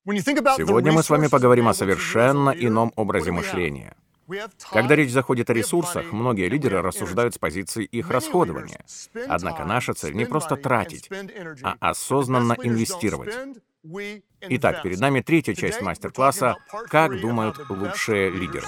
Сегодня мы с вами поговорим о совершенно ином образе мышления. Когда речь заходит о ресурсах, многие лидеры рассуждают с позиции их расходования. Однако наша цель не просто тратить, а осознанно инвестировать. Итак, перед нами третья часть мастер-класса «Как думают лучшие лидеры».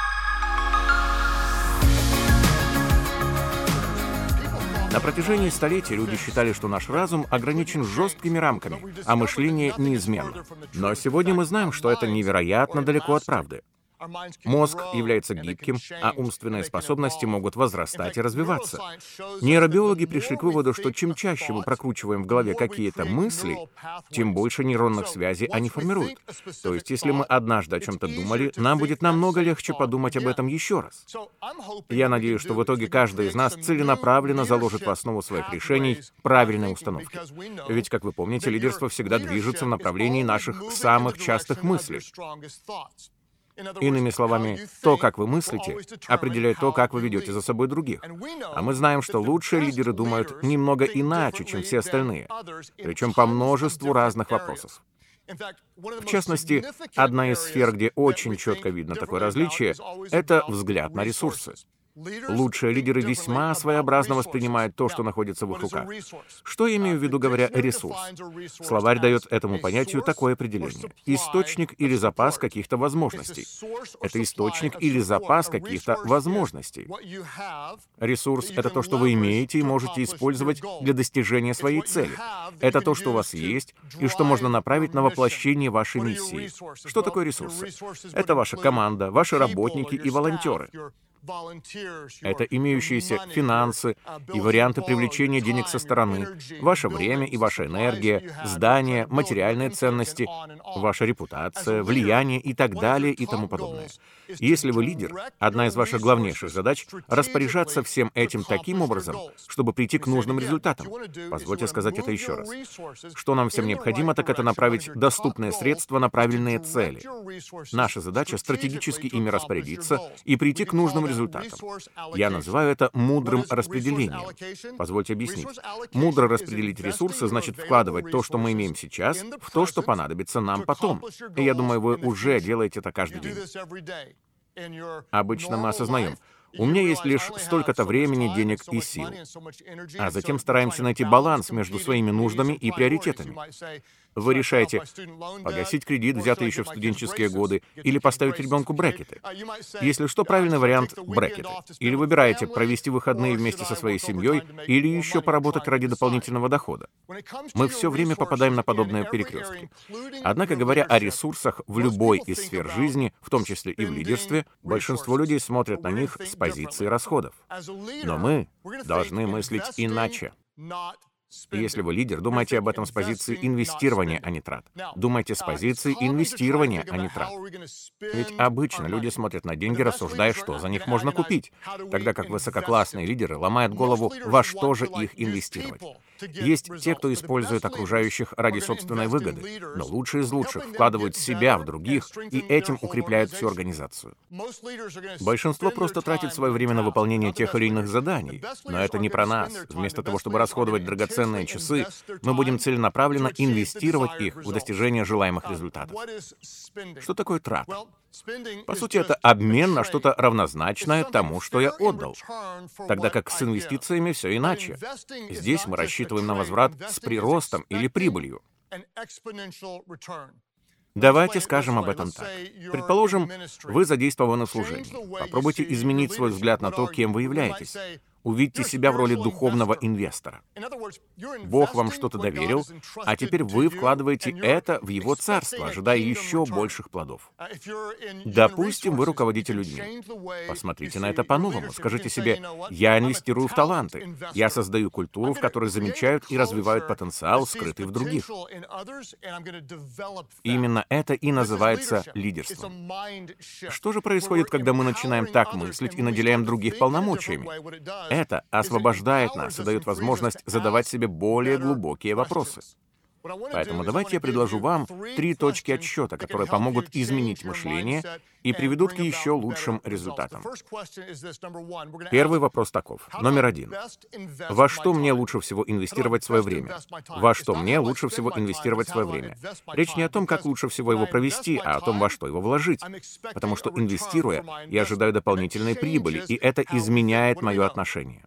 На протяжении столетий люди считали, что наш разум ограничен жесткими рамками, а мышление неизменно. Но сегодня мы знаем, что это невероятно далеко от правды. Мозг является гибким, а умственные способности могут возрастать и развиваться. Нейробиологи пришли к выводу, что чем чаще мы прокручиваем в голове какие-то мысли, тем больше нейронных связей они формируют. То есть, если мы однажды о чем-то думали, нам будет намного легче подумать об этом еще раз. Я надеюсь, что в итоге каждый из нас целенаправленно заложит в основу своих решений правильные установки. Ведь, как вы помните, лидерство всегда движется в направлении наших самых частых мыслей. Иными словами, то, как вы мыслите, определяет то, как вы ведете за собой других. А мы знаем, что лучшие лидеры думают немного иначе, чем все остальные, причем по множеству разных вопросов. В частности, одна из сфер, где очень четко видно такое различие, это взгляд на ресурсы. Лучшие лидеры весьма своеобразно воспринимают то, что находится в их руках. Что я имею в виду, говоря «ресурс»? Словарь дает этому понятию такое определение: источник или запас каких-то возможностей. Это источник или запас каких-то возможностей. Ресурс — это то, что вы имеете и можете использовать для достижения своей цели. Это то, что у вас есть, и что можно направить на воплощение вашей миссии. Что такое ресурсы? Это ваша команда, ваши работники и волонтеры. Это имеющиеся финансы и варианты привлечения денег со стороны, ваше время и ваша энергия, здания, материальные ценности, ваша репутация, влияние и так далее и тому подобное. Если вы лидер, одна из ваших главнейших задач — распоряжаться всем этим таким образом, чтобы прийти к нужным результатам. Позвольте сказать это еще раз. Что нам всем необходимо, так это направить доступные средства на правильные цели. Наша задача — стратегически ими распорядиться и прийти к нужным результатам. Я называю это мудрым распределением. Позвольте объяснить. Мудро распределить ресурсы значит вкладывать то, что мы имеем сейчас, в то, что понадобится нам потом. И я думаю, вы уже делаете это каждый день. Обычно мы осознаем: у меня есть лишь столько-то времени, денег и сил. А затем стараемся найти баланс между своими нуждами и приоритетами. Вы решаете погасить кредит, взятый еще в студенческие годы, или поставить ребенку брекеты. Если что, правильный вариант — брекеты. Или выбираете провести выходные вместе со своей семьей, или еще поработать ради дополнительного дохода. Мы все время попадаем на подобные перекрестки. Однако, говоря о ресурсах в любой из сфер жизни, в том числе и в лидерстве, большинство людей смотрят на них с позиции расходов. Но мы должны мыслить иначе. Если вы лидер, думайте об этом с позиции инвестирования, а не трат. Думайте с позиции инвестирования, а не трат. Ведь обычно люди смотрят на деньги, рассуждая, что за них можно купить, тогда как высококлассные лидеры ломают голову, во что же их инвестировать. Есть те, кто использует окружающих ради собственной выгоды, но лучшие из лучших вкладывают себя в других и этим укрепляют всю организацию. Большинство просто тратит свое время на выполнение тех или иных заданий, но это не про нас. Вместо того, чтобы расходовать драгоценные часы, мы будем целенаправленно инвестировать их в достижение желаемых результатов. Что такое трата? По сути, это обмен на что-то равнозначное тому, что я отдал. Тогда как с инвестициями все иначе. Здесь мы рассчитываем на возврат с приростом или прибылью. Давайте скажем об этом так. Предположим, вы задействованы в служении. Попробуйте изменить свой взгляд на то, кем вы являетесь. Увидьте себя в роли духовного инвестора. Бог вам что-то доверил, а теперь вы вкладываете это в Его царство, ожидая еще больших плодов. Допустим, вы руководите людьми. Посмотрите на это по-новому. Скажите себе: я инвестирую в таланты. Я создаю культуру, в которой замечают и развивают потенциал, скрытый в других. Именно это и называется лидерством. Что же происходит, когда мы начинаем так мыслить и наделяем других полномочиями? Это освобождает нас и дает возможность задавать себе более глубокие вопросы. Поэтому давайте я предложу вам 3 точки отсчета, которые помогут изменить мышление и приведут к еще лучшим результатам. Первый вопрос таков. Номер 1. Во что мне лучше всего инвестировать свое время? Во что мне лучше всего инвестировать свое время? Речь не о том, как лучше всего его провести, а о том, во что его вложить. Потому что, инвестируя, я ожидаю дополнительной прибыли, и это изменяет мое отношение.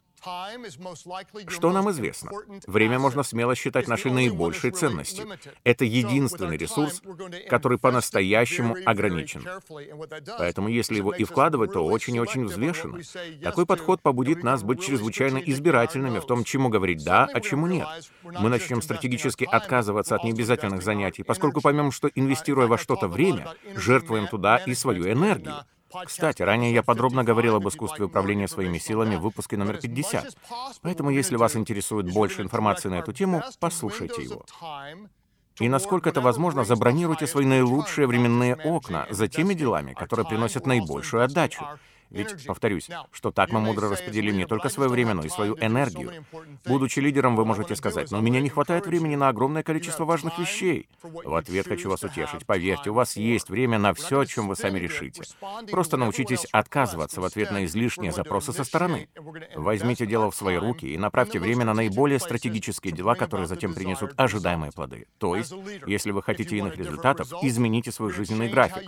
Что нам известно? Время можно смело считать нашей наибольшей ценностью. Это единственный ресурс, который по-настоящему ограничен. Поэтому если его и вкладывать, то очень и очень взвешенно. Такой подход побудит нас быть чрезвычайно избирательными в том, чему говорить «да», а чему «нет». Мы начнем стратегически отказываться от необязательных занятий, поскольку поймем, что, инвестируя во что-то время, жертвуем туда и свою энергию. Кстати, ранее я подробно говорил об искусстве управления своими силами в выпуске номер 50. Поэтому, если вас интересует больше информации на эту тему, послушайте его. И насколько это возможно, забронируйте свои наилучшие временные окна за теми делами, которые приносят наибольшую отдачу. Ведь, повторюсь, что так мы мудро распределим не только свое время, но и свою энергию. Будучи лидером, вы можете сказать: «Но у меня не хватает времени на огромное количество важных вещей». В ответ хочу вас утешить. Поверьте, у вас есть время на все, о чем вы сами решите. Просто научитесь отказываться в ответ на излишние запросы со стороны. Возьмите дело в свои руки и направьте время на наиболее стратегические дела, которые затем принесут ожидаемые плоды. То есть, если вы хотите иных результатов, измените свой жизненный график.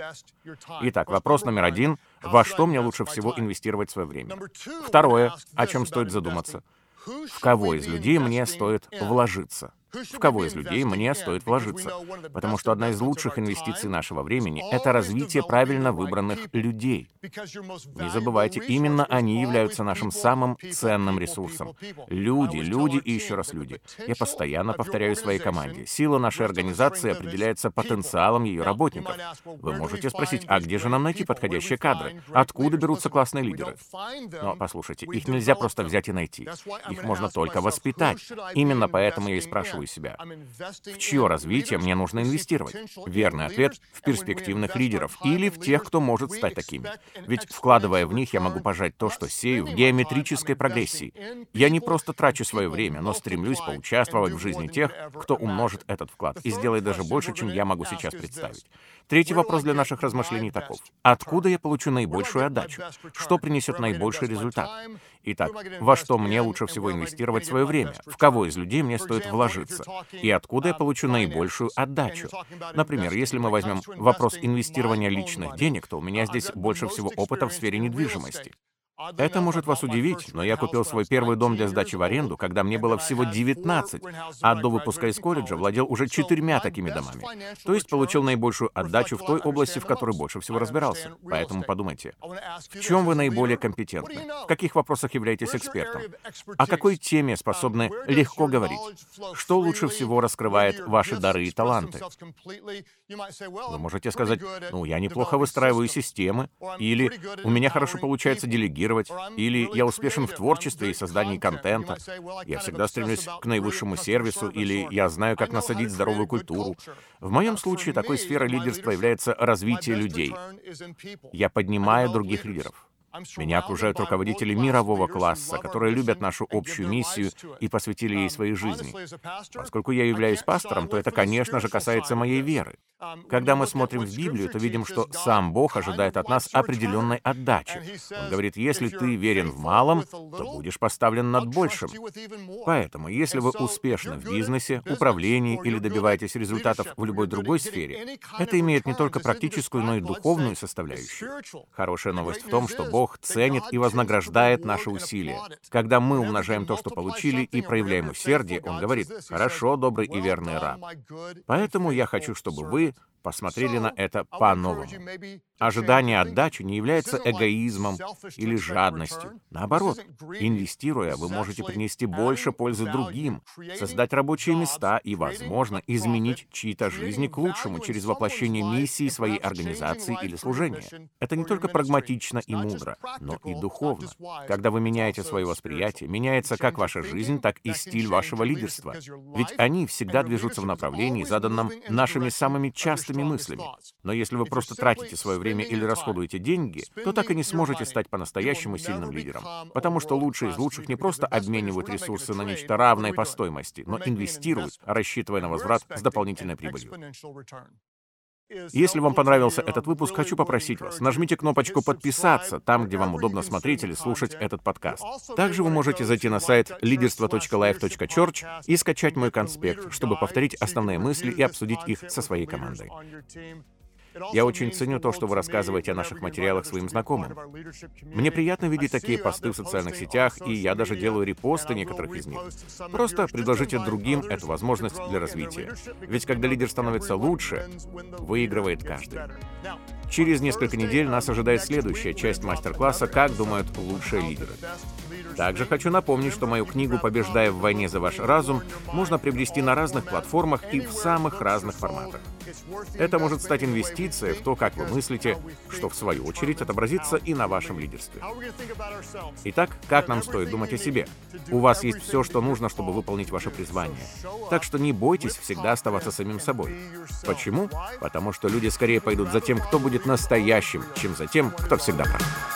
Итак, вопрос номер 1. Во что мне лучше всего инвестировать свое время? Второе, о чем стоит задуматься. В кого из людей мне стоит вложиться? В кого из людей мне стоит вложиться? Потому что одна из лучших инвестиций нашего времени — это развитие правильно выбранных людей. Не забывайте, именно они являются нашим самым ценным ресурсом. Люди, люди и еще раз люди. Я постоянно повторяю своей команде. Сила нашей организации определяется потенциалом ее работников. Вы можете спросить, а где же нам найти подходящие кадры? Откуда берутся классные лидеры? Но послушайте, их нельзя просто взять и найти. Их можно только воспитать. Именно поэтому я и спрашиваю себя, в чье развитие мне нужно инвестировать? Верный ответ — в перспективных лидеров или в тех, кто может стать такими. Ведь, вкладывая в них, я могу пожать то, что сею, в геометрической прогрессии. Я не просто трачу свое время, но стремлюсь поучаствовать в жизни тех, кто умножит этот вклад и сделает даже больше, чем я могу сейчас представить. Третий вопрос для наших размышлений таков. Откуда я получу наибольшую отдачу? Что принесет наибольший результат? Итак, во что мне лучше всего инвестировать свое время? В кого из людей мне стоит вложиться? И откуда я получу наибольшую отдачу? Например, если мы возьмем вопрос инвестирования личных денег, то у меня здесь больше всего опыта в сфере недвижимости. Это может вас удивить, но я купил свой первый дом для сдачи в аренду, когда мне было всего 19, а до выпуска из колледжа владел уже 4 такими домами. То есть получил наибольшую отдачу в той области, в которой больше всего разбирался. Поэтому подумайте, в чем вы наиболее компетентны? В каких вопросах являетесь экспертом? О какой теме способны легко говорить? Что лучше всего раскрывает ваши дары и таланты? Вы можете сказать: «Ну, я неплохо выстраиваю системы», или «У меня хорошо получается делегировать», или «Я успешен в творчестве и создании контента», «Я всегда стремлюсь к наивысшему сервису», или «Я знаю, как насадить здоровую культуру». В моем случае такой сферой лидерства является развитие людей. Я поднимаю других лидеров. Меня окружают руководители мирового класса, которые любят нашу общую миссию и посвятили ей своей жизни. Поскольку я являюсь пастором, то это, конечно же, касается моей веры. Когда мы смотрим в Библию, то видим, что сам Бог ожидает от нас определенной отдачи. Он говорит: если ты верен в малом, то будешь поставлен над большим. Поэтому, если вы успешны в бизнесе, управлении или добиваетесь результатов в любой другой сфере, это имеет не только практическую, но и духовную составляющую. Хорошая новость в том, что Бог ценит и вознаграждает наши усилия. Когда мы умножаем то, что получили, и проявляем усердие, Он говорит: «Хорошо, добрый и верный раб». Поэтому я хочу, чтобы вы посмотрели на это по-новому. Ожидание отдачи не является эгоизмом или жадностью. Наоборот, инвестируя, вы можете принести больше пользы другим, создать рабочие места и, возможно, изменить чьи-то жизни к лучшему через воплощение миссии своей организации или служения. Это не только прагматично и мудро, но и духовно. Когда вы меняете свое восприятие, меняется как ваша жизнь, так и стиль вашего лидерства. Ведь они всегда движутся в направлении, заданном нашими самыми частыми вашими мыслями. Но если вы просто тратите свое время или расходуете деньги, то так и не сможете стать по-настоящему сильным лидером. Потому что лучшие из лучших не просто обменивают ресурсы на нечто равное по стоимости, но инвестируют, рассчитывая на возврат с дополнительной прибылью. Если вам понравился этот выпуск, хочу попросить вас, нажмите кнопочку «Подписаться» там, где вам удобно смотреть или слушать этот подкаст. Также вы можете зайти на сайт leaderство.life.church и скачать мой конспект, чтобы повторить основные мысли и обсудить их со своей командой. Я очень ценю то, что вы рассказываете о наших материалах своим знакомым. Мне приятно видеть такие посты в социальных сетях, и я даже делаю репосты некоторых из них. Просто предложите другим эту возможность для развития. Ведь когда лидер становится лучше, выигрывает каждый. Через несколько недель нас ожидает следующая часть мастер-класса «Как думают лучшие лидеры». Также хочу напомнить, что мою книгу «Побеждая в войне за ваш разум» можно приобрести на разных платформах и в самых разных форматах. Это может стать инвестицией в то, как вы мыслите, что в свою очередь отобразится и на вашем лидерстве. Итак, как нам стоит думать о себе? У вас есть все, что нужно, чтобы выполнить ваше призвание. Так что не бойтесь всегда оставаться самим собой. Почему? Потому что люди скорее пойдут за тем, кто будет настоящим, чем за тем, кто всегда прав.